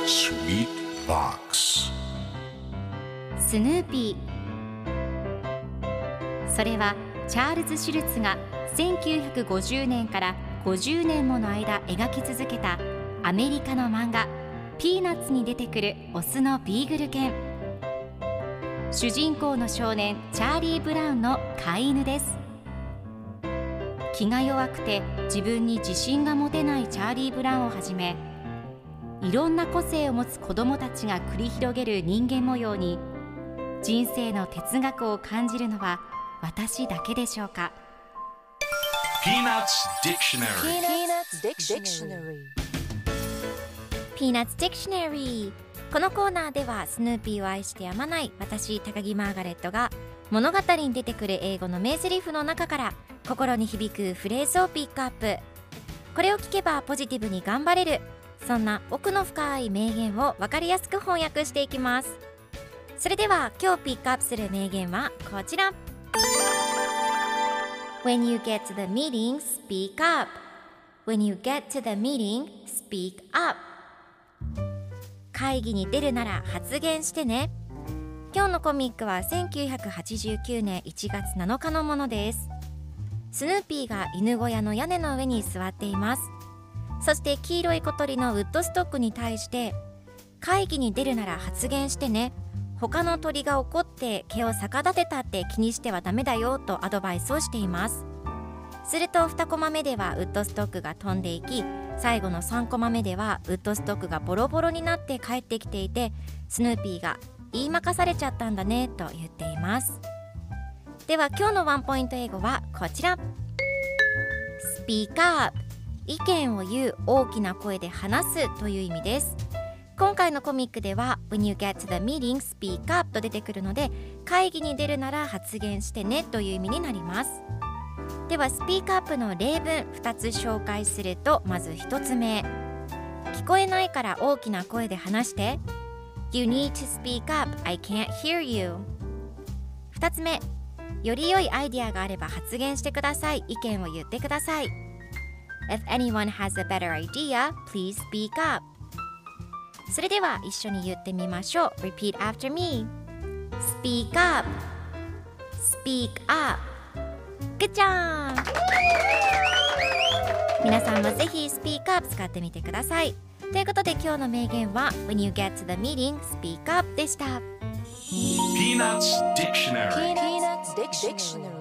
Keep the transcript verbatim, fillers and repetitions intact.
Sweet Box スヌーピー。それはチャールズ・シュルツがせんきゅうひゃくごじゅうねんからごじゅうねんもの間描き続けたアメリカの漫画ピーナッツに出てくるオスのビーグル犬。主人公の少年チャーリー・ブラウンの飼い犬です。気が弱くて自分に自信が持てないチャーリー・ブラウンをはじめ、いろんな個性を持つ子どもたちが繰り広げる人間模様に人生の哲学を感じるのは私だけでしょうか。 Peanuts Dictionary Peanuts Dictionary。 このコーナーではスヌーピーを愛してやまない私高木マーガレットが物語に出てくる英語の名台詞の中から心に響くフレーズをピックアップ。これを聞けばポジティブに頑張れる、そんな奥の深い名言を分かりやすく翻訳していきます。それでは今日ピックアップする名言はこちら。 When you get to the meeting, speak up. When you get to the meeting, speak up. 会議に出るなら発言してね。今日のコミックはせんきゅうひゃくはちじゅうきゅうねんいちがつなのかのものです。スヌーピーが犬小屋の屋根の上に座っています。そして黄色い小鳥のウッドストックに対して、会議に出るなら発言してね、他の鳥が怒って毛を逆立てたって気にしてはダメだよとアドバイスをしています。するとにコマ目ではウッドストックが飛んでいき、最後のさんコマ目ではウッドストックがボロボロになって帰ってきていて、スヌーピーが言いまかされちゃったんだねと言っています。では今日のワンポイント英語はこちら。 Speak up。 意見を言う、大きな声で話すという意味です。今回のコミックでは When you get to the meeting, speak up と出てくるので、会議に出るなら発言してねという意味になります。では Speak up の例文ふたつ紹介すると、まずひとつめ、聞こえないから大きな声で話して。 You need to speak up, I can't hear you。 ふたつめ、より良いアイディアがあれば発言してください、意見を言ってください。 If anyone has a better idea, please speak up。 それでは一緒に言ってみましょう。 Repeat after me。 Speak up Speak up。 Good job。 皆さんもぜひ Speak up 使ってみてください。ということで今日の名言は When you get to the meeting, speak up でした。 Peanuts Dictionary Peanuts Dictionary